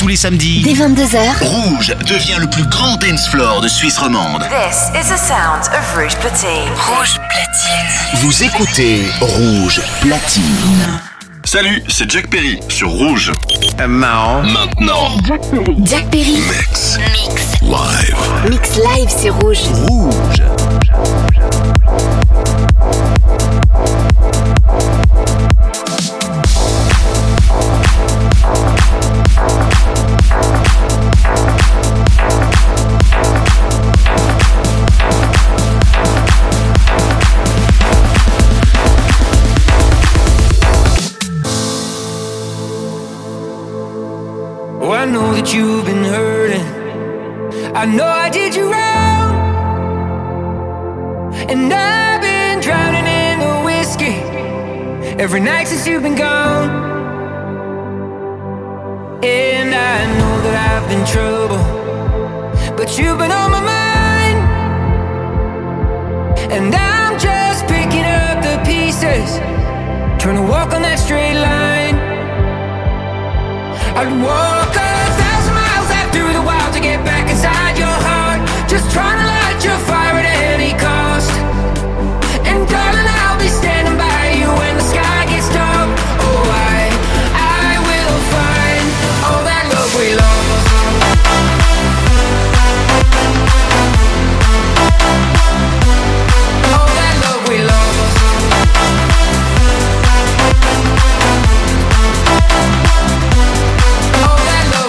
tous les samedis. Dès 22h. Rouge devient le plus grand dance floor de Suisse romande. This is the sound of Rouge Platine. Rouge Platine. Vous écoutez Rouge Platine. Salut, c'est Jack Perry sur Rouge. Maintenant. Jack Perry. Mix. Mix live, c'est Rouge. Rouge. Oh, I know that you've been hurting. I know I did you wrong, and I've been drowning in the whiskey every night since you've been gone. And I know that I've been trouble, but you've been on my mind, and I'm just picking up the pieces, trying to walk on that straight line. I'd walk 1,000 miles out through the wild to get back inside your heart, just trying to light your fire at any cost. And darling, I'll be standing by you when the sky gets dark. Oh, I will find all that love we lost. All that love we lost. All that love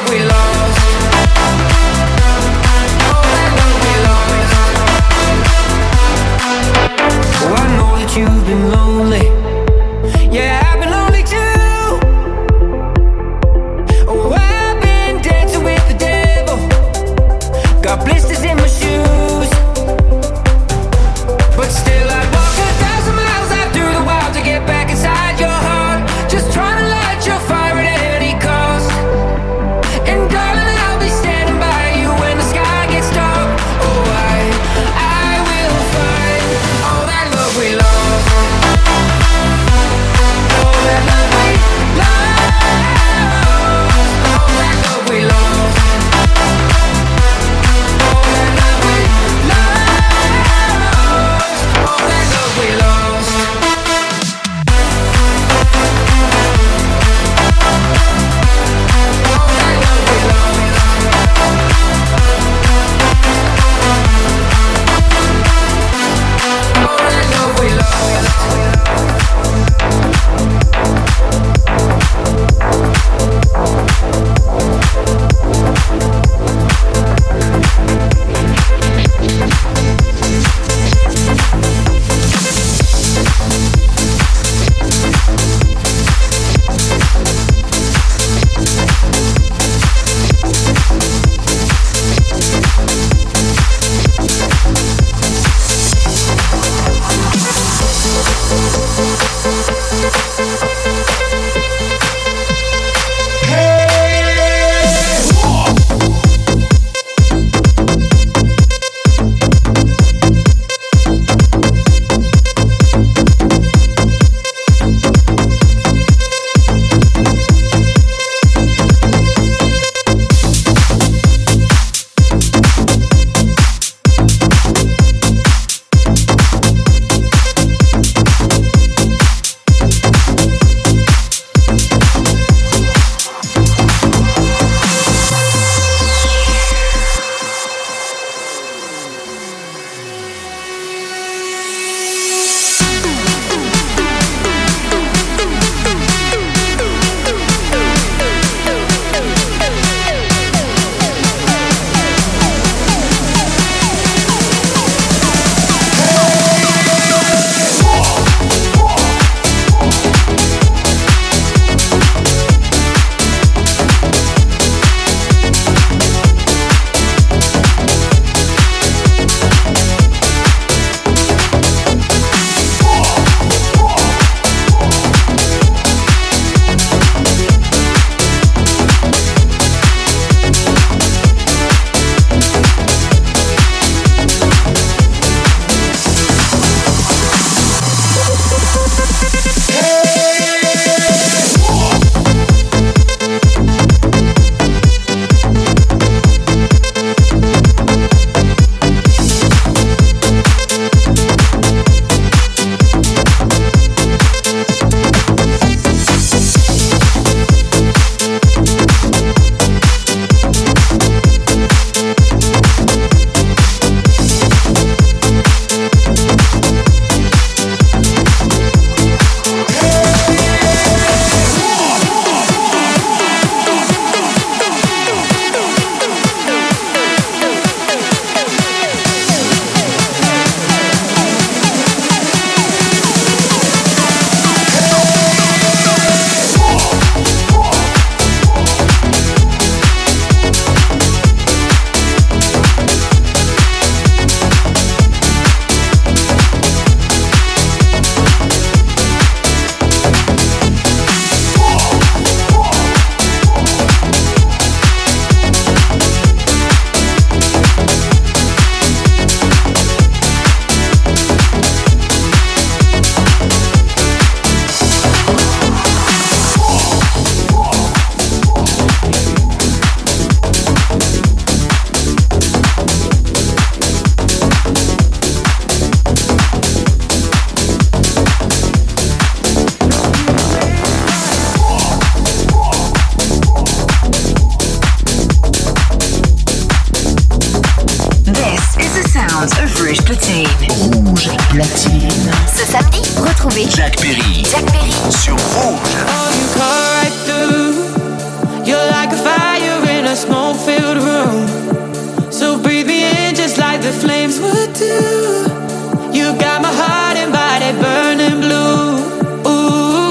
Jack Perry. Sur Rouge. Oh, you cut right through. You're like a fire in a smoke-filled room. So breathe me in just like the flames would do. You got my heart and body burning blue. Ooh.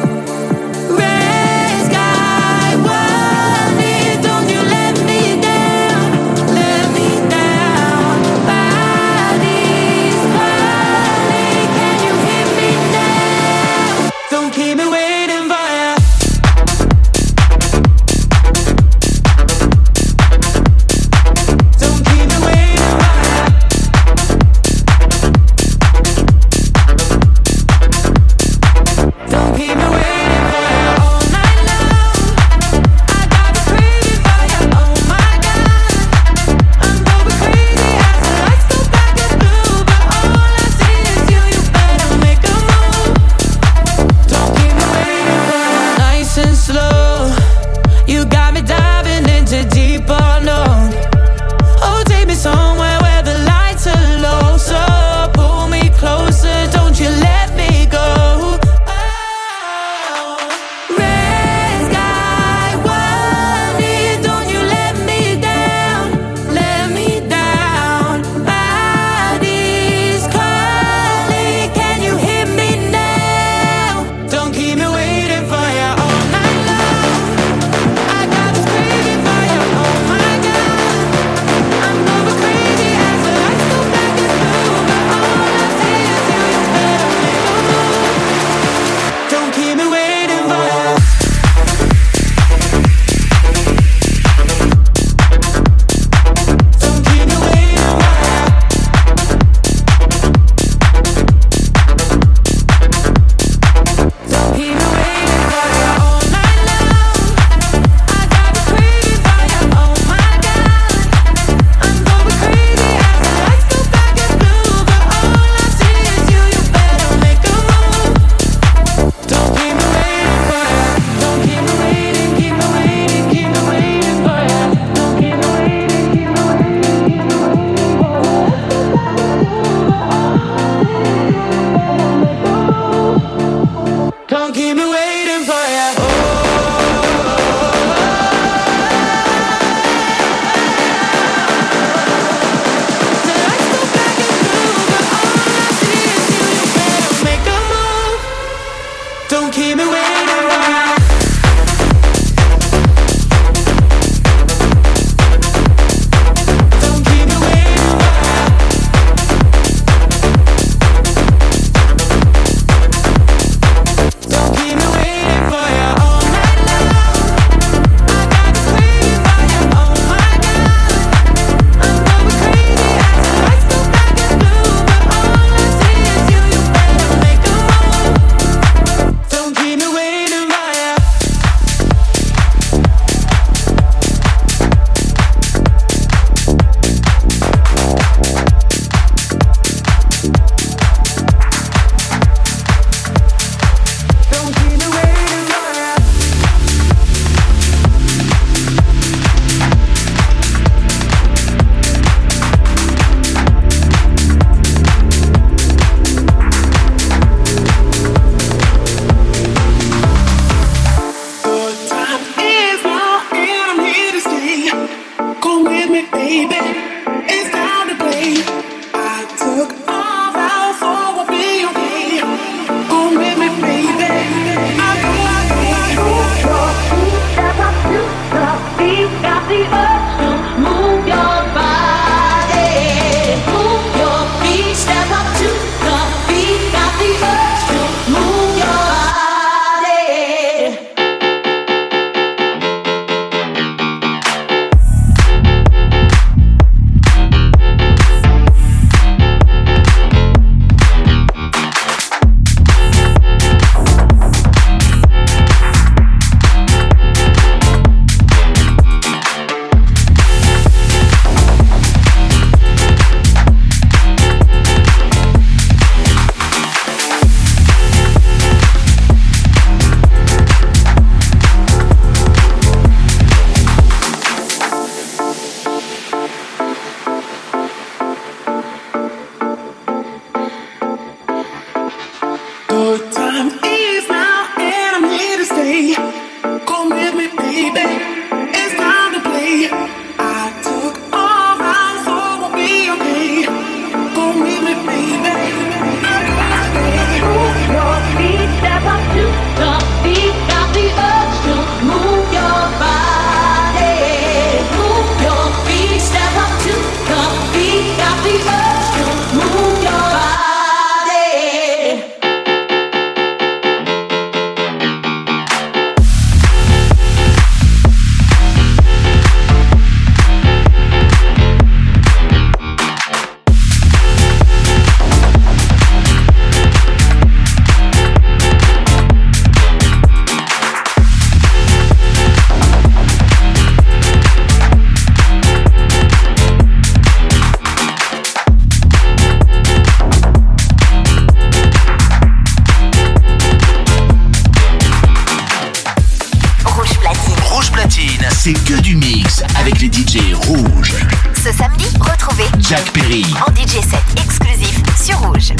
Red sky, warning, don't you let me down, let me down. Body's falling, can you hear me now? c'est que du mix avec les DJ rouges. Ce samedi, retrouvez Jack Perry en DJ set exclusif sur Rouge.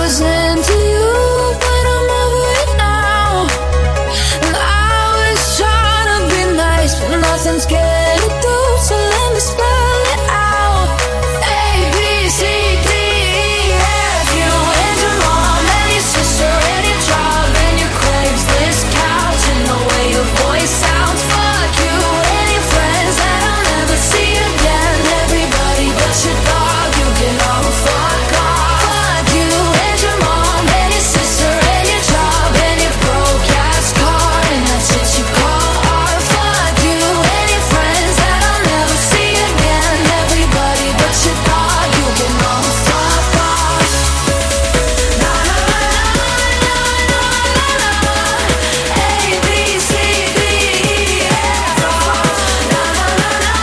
was into you, but I'm over it now. And I was trying to be nice, but nothing's getting through, so let me spell it out. A, B, C, D, E, F. You and your mom and your sister and your job and your Craigslist couch and the way your voice sounds. Fuck you and your friends that I'll never see again. Everybody but your dog, you can all fuck off. Fuck you and your mom and your sister and your job and your broke ass car and that shit you call art. Fuck you and your friends that I'll never see again. Everybody but your dog, you can all fuck off. Na na na na na na na. A B C D E F. Na na na na na na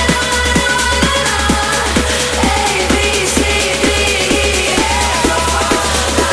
na. A B C D E F.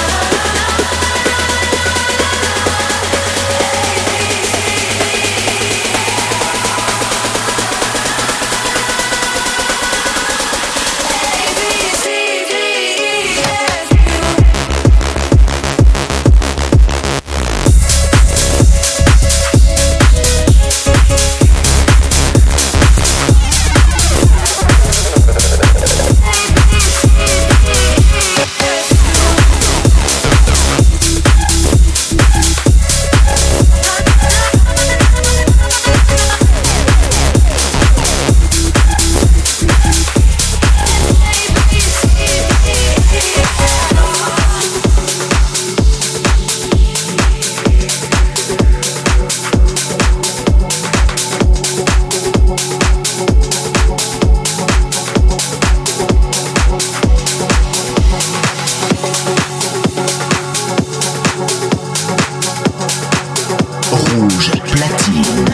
Rouge platine.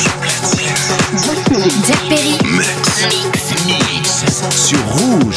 Jack Perry. Mix sur Rouge.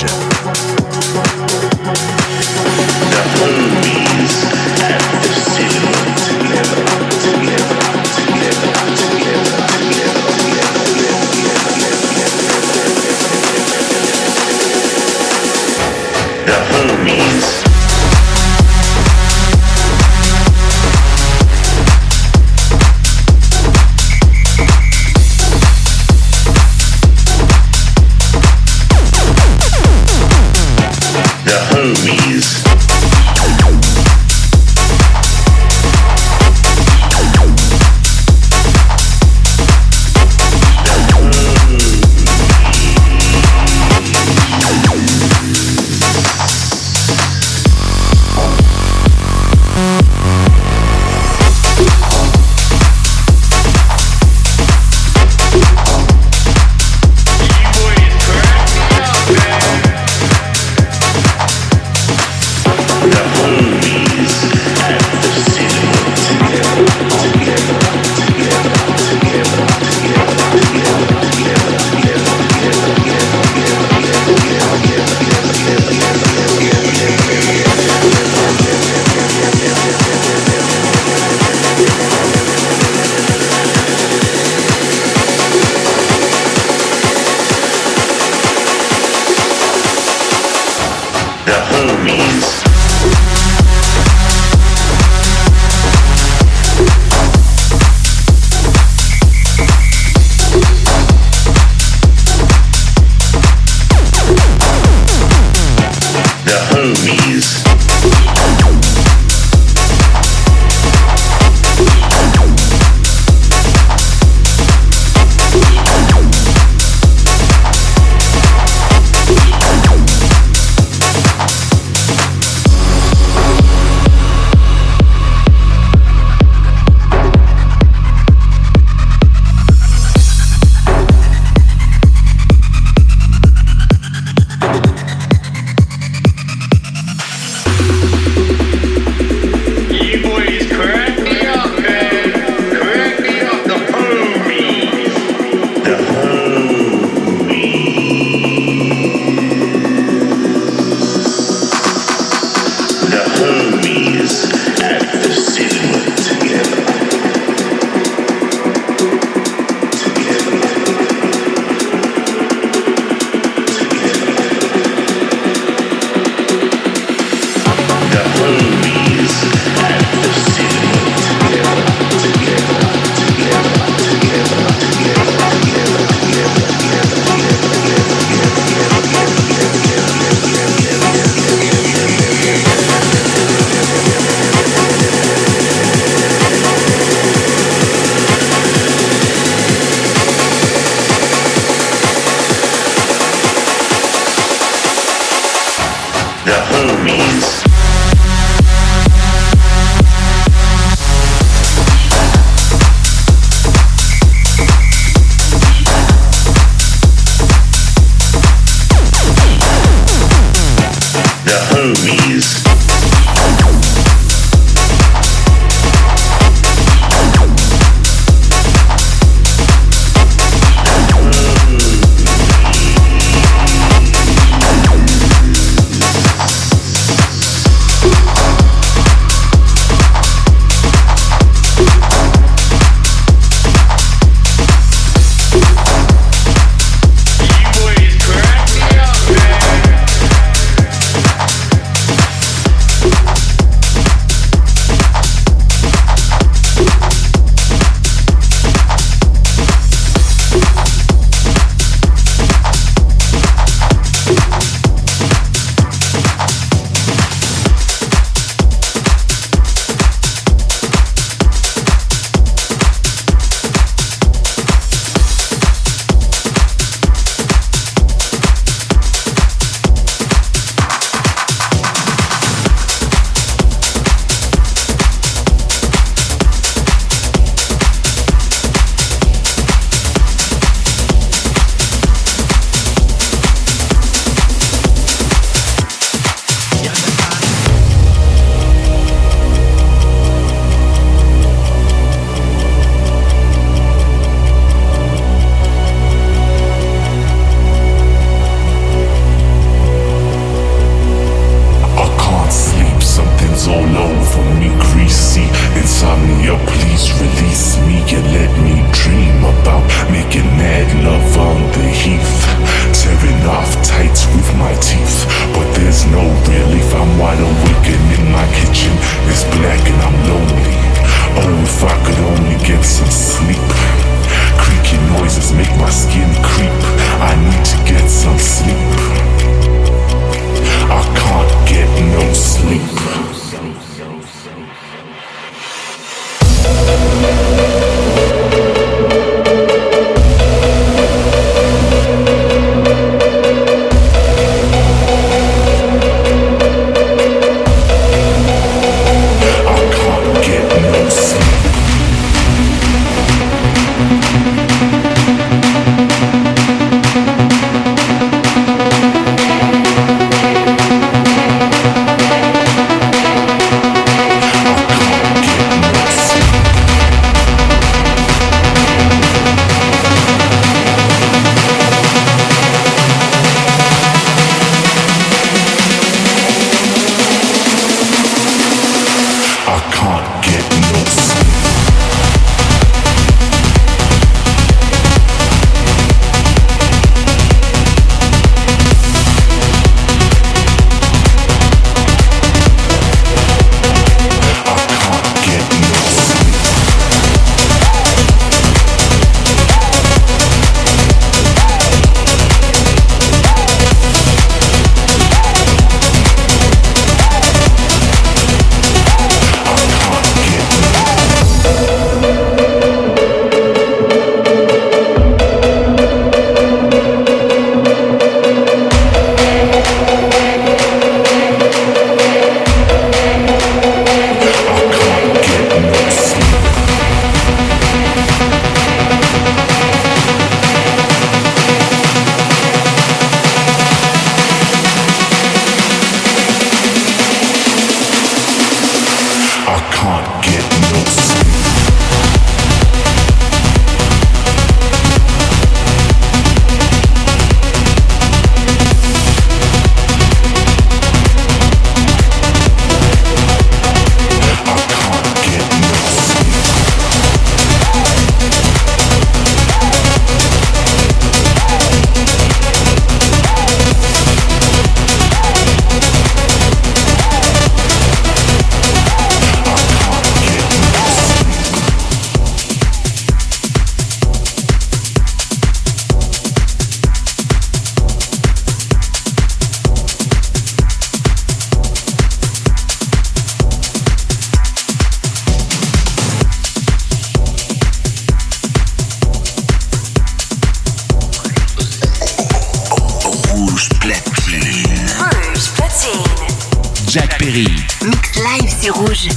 Perry. Mix live sur Rouge.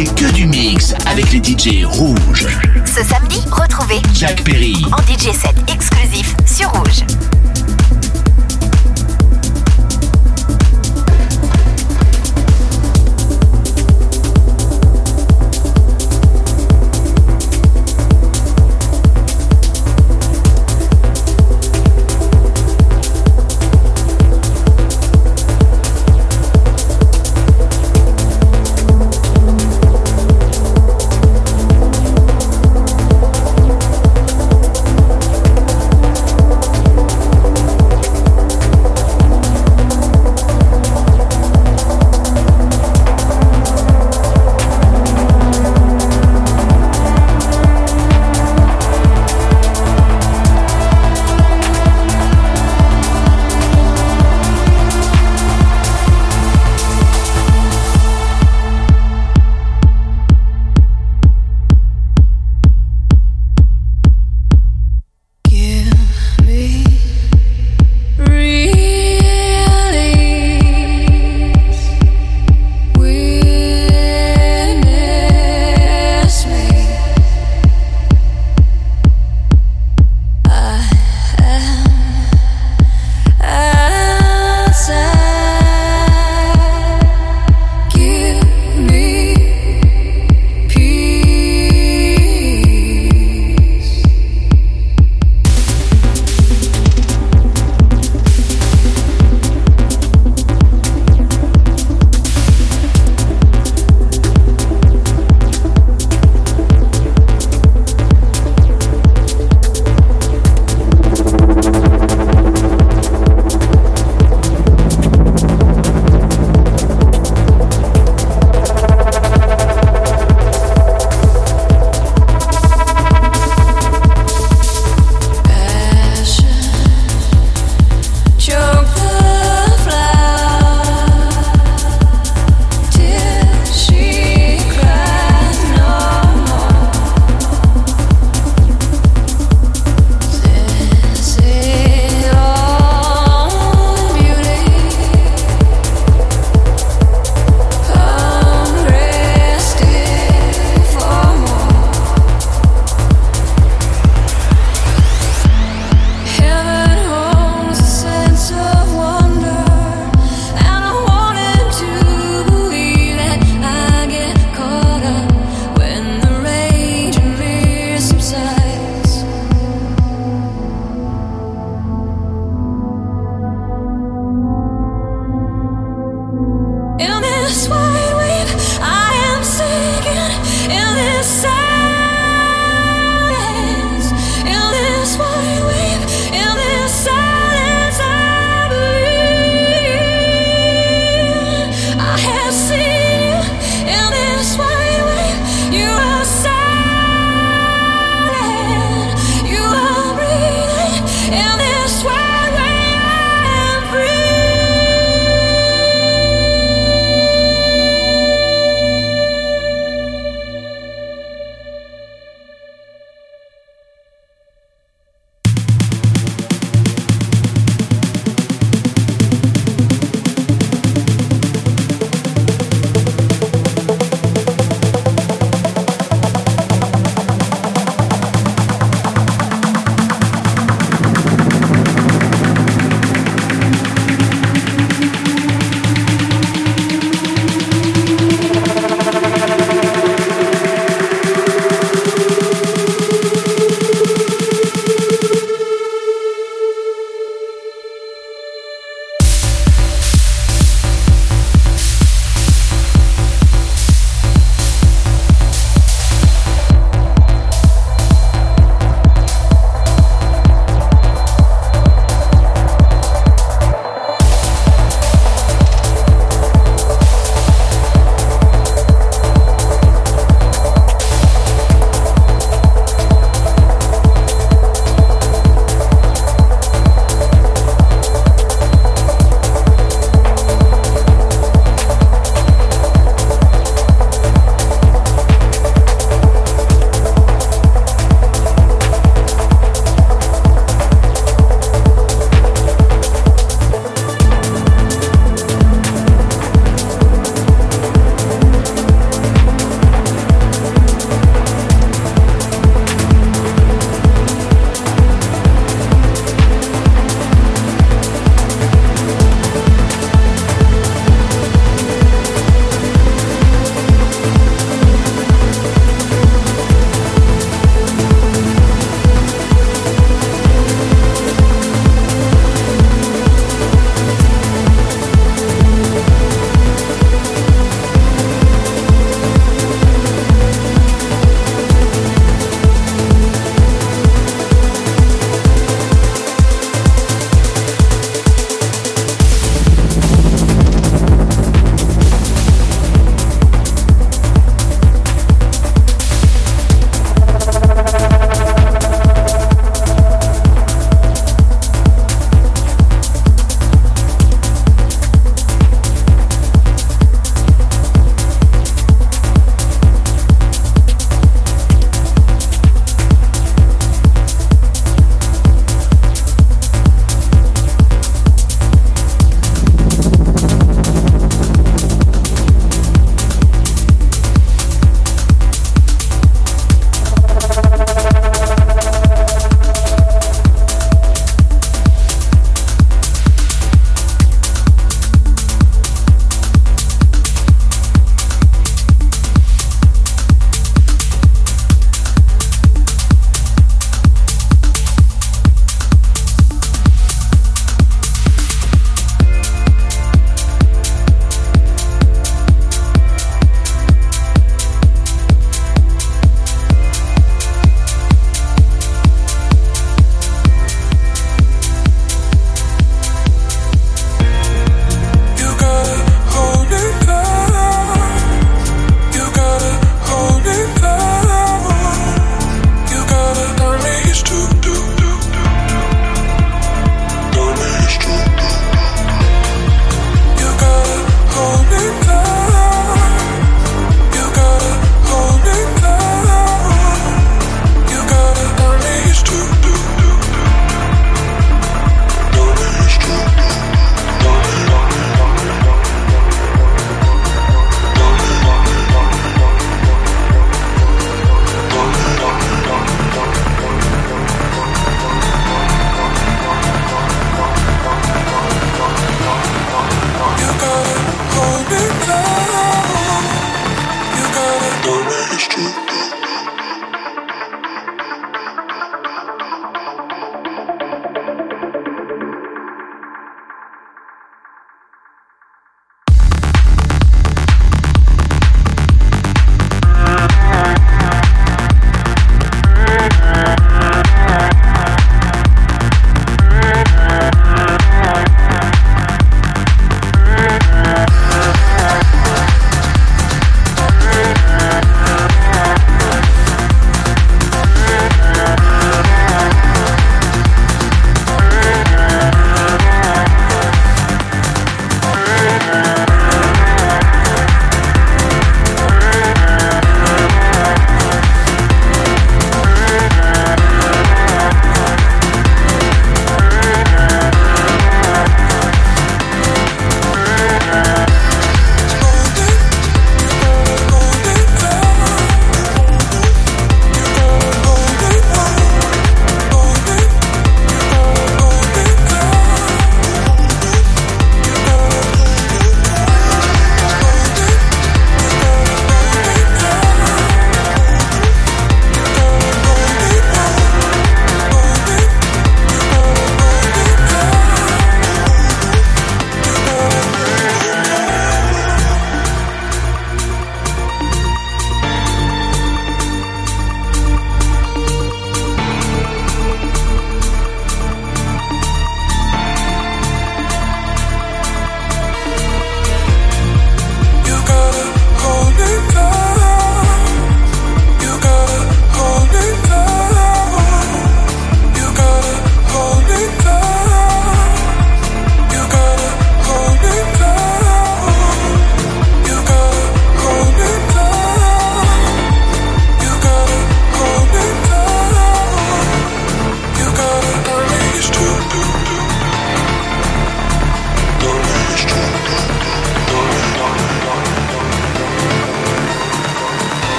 c'est que du mix avec les DJ rouges. Ce samedi, retrouvez Jack Perry en DJ set exclusif sur Rouge.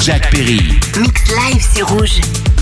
Jack Perry. Mix live, c'est Rouge.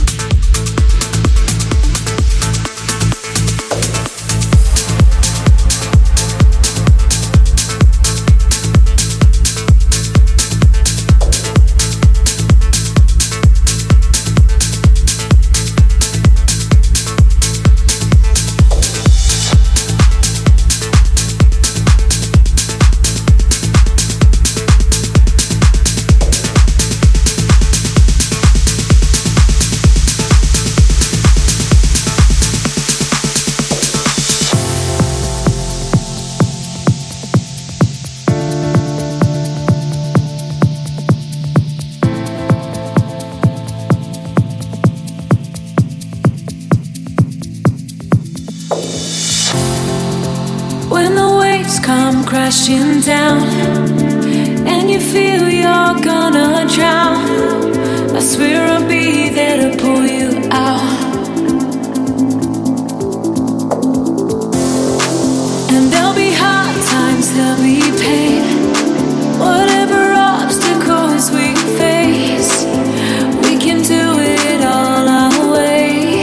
Crashing down, and you feel you're gonna drown. I swear I'll be there to pull you out. And there'll be hard times, there'll be pain. Whatever obstacles we face, we can do it all our way.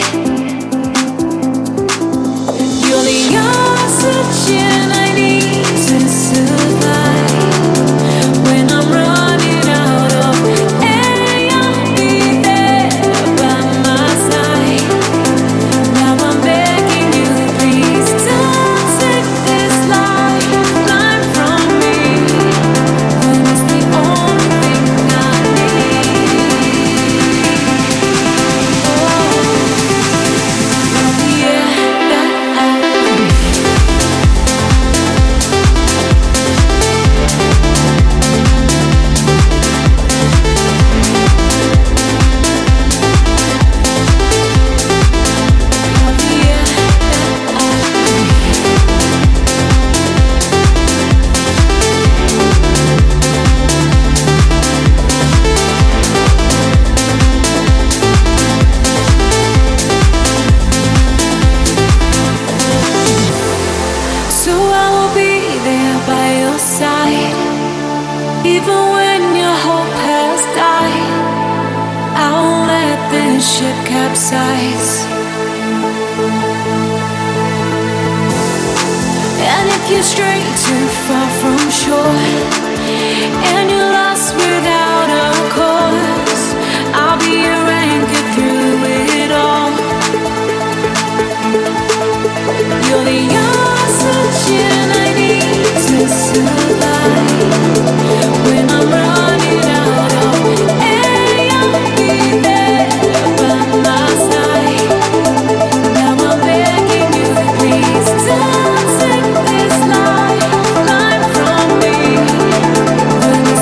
You're the oxygen I need to survive. When I'm running out of air, you'll be there by my side. Now I'm begging you, please don't take this lifeline from me. When it's the only thing I need. Oh, the air that I breathe. So I will be there by your side, even when your hope has died. I won't let this ship capsize. And if you stray too far from shore, and you're lost without a cause, I'll be your anchor through it all. You're the oxygen I need to survive. When I'm running out of air, you'll be there by my side. Now I'm begging you, please don't take this lifeline from me. When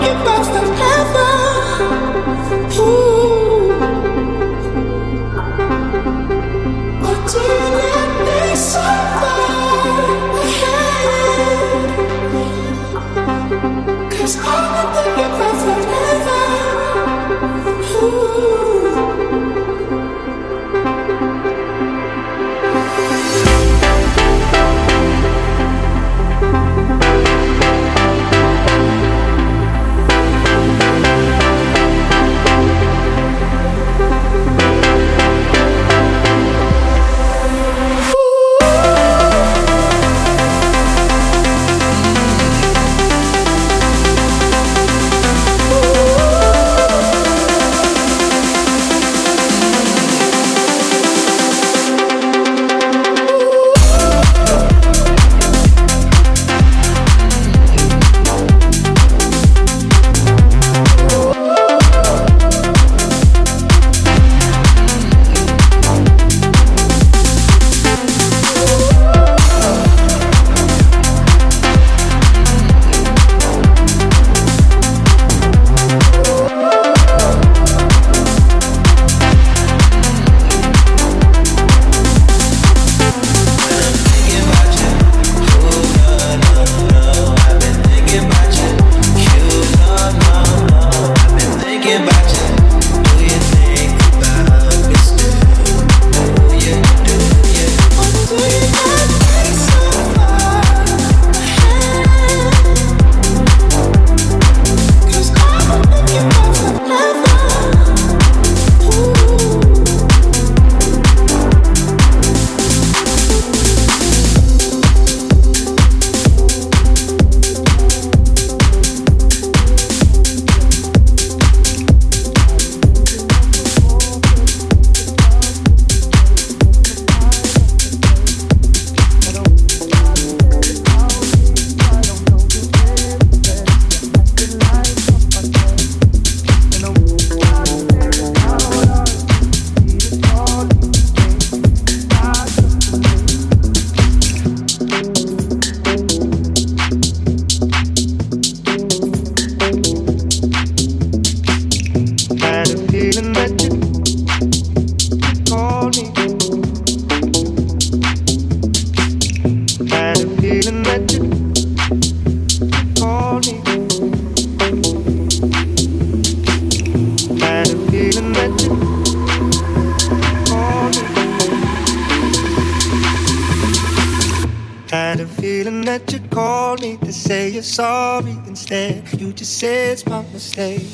Sorry instead, you just say it's my mistake.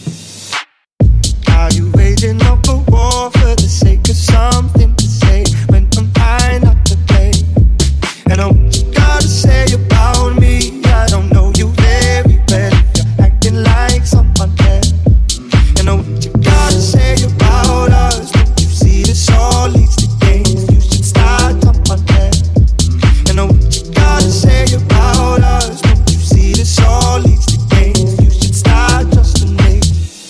Are you waging up a war for the sake of something to say when I'm trying not to play? And what you gotta say about me, I don't know you very well if you're acting like someone else. And what you gotta say about us, don't you see this all leads to games? You should start someone else. And what you gotta say about us, this all leads to games. You should start just to make.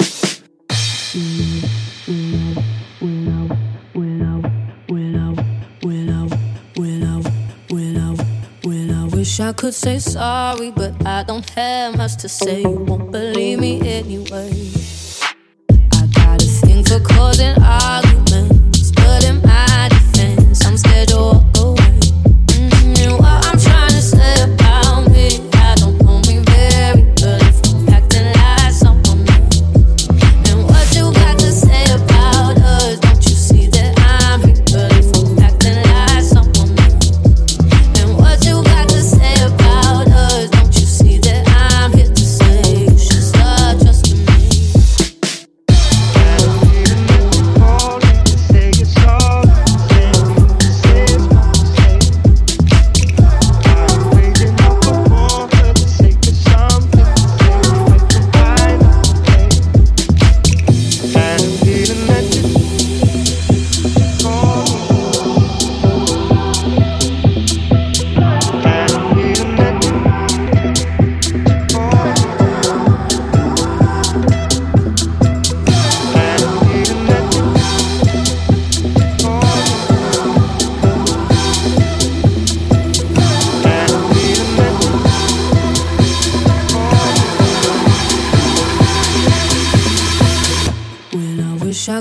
Wish I could say sorry, but I don't have much to say. You won't believe me anyway. I got a thing for causing arguments, but in my defense, I'm scared to walk away. And what I'm trying to say about me, I don't know me very well if I'm acting like someone else. And what you got to say about us, don't you see that I'm real if I'm acting like someone else? And what you got to say about us, don't you see that I'm here to say you should start trusting me?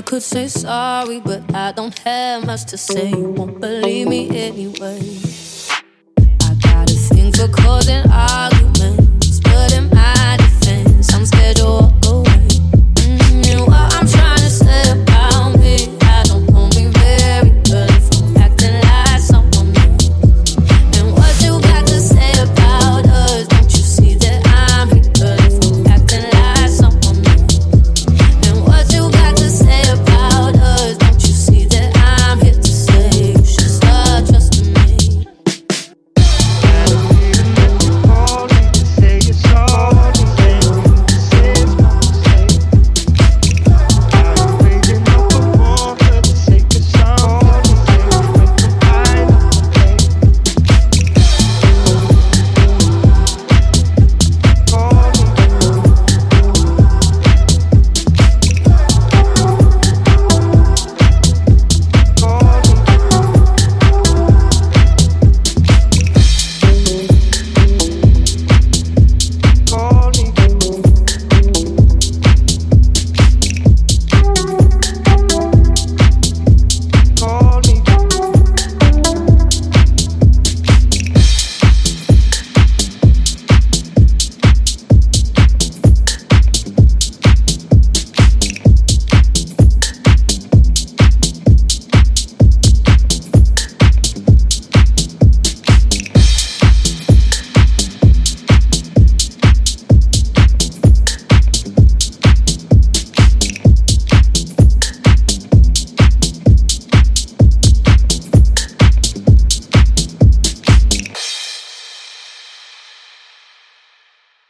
I could say sorry, but I don't have much to say. You won't believe me anyway. I got a thing for causing arguments, but in my defense, I'm scared you'll walk away.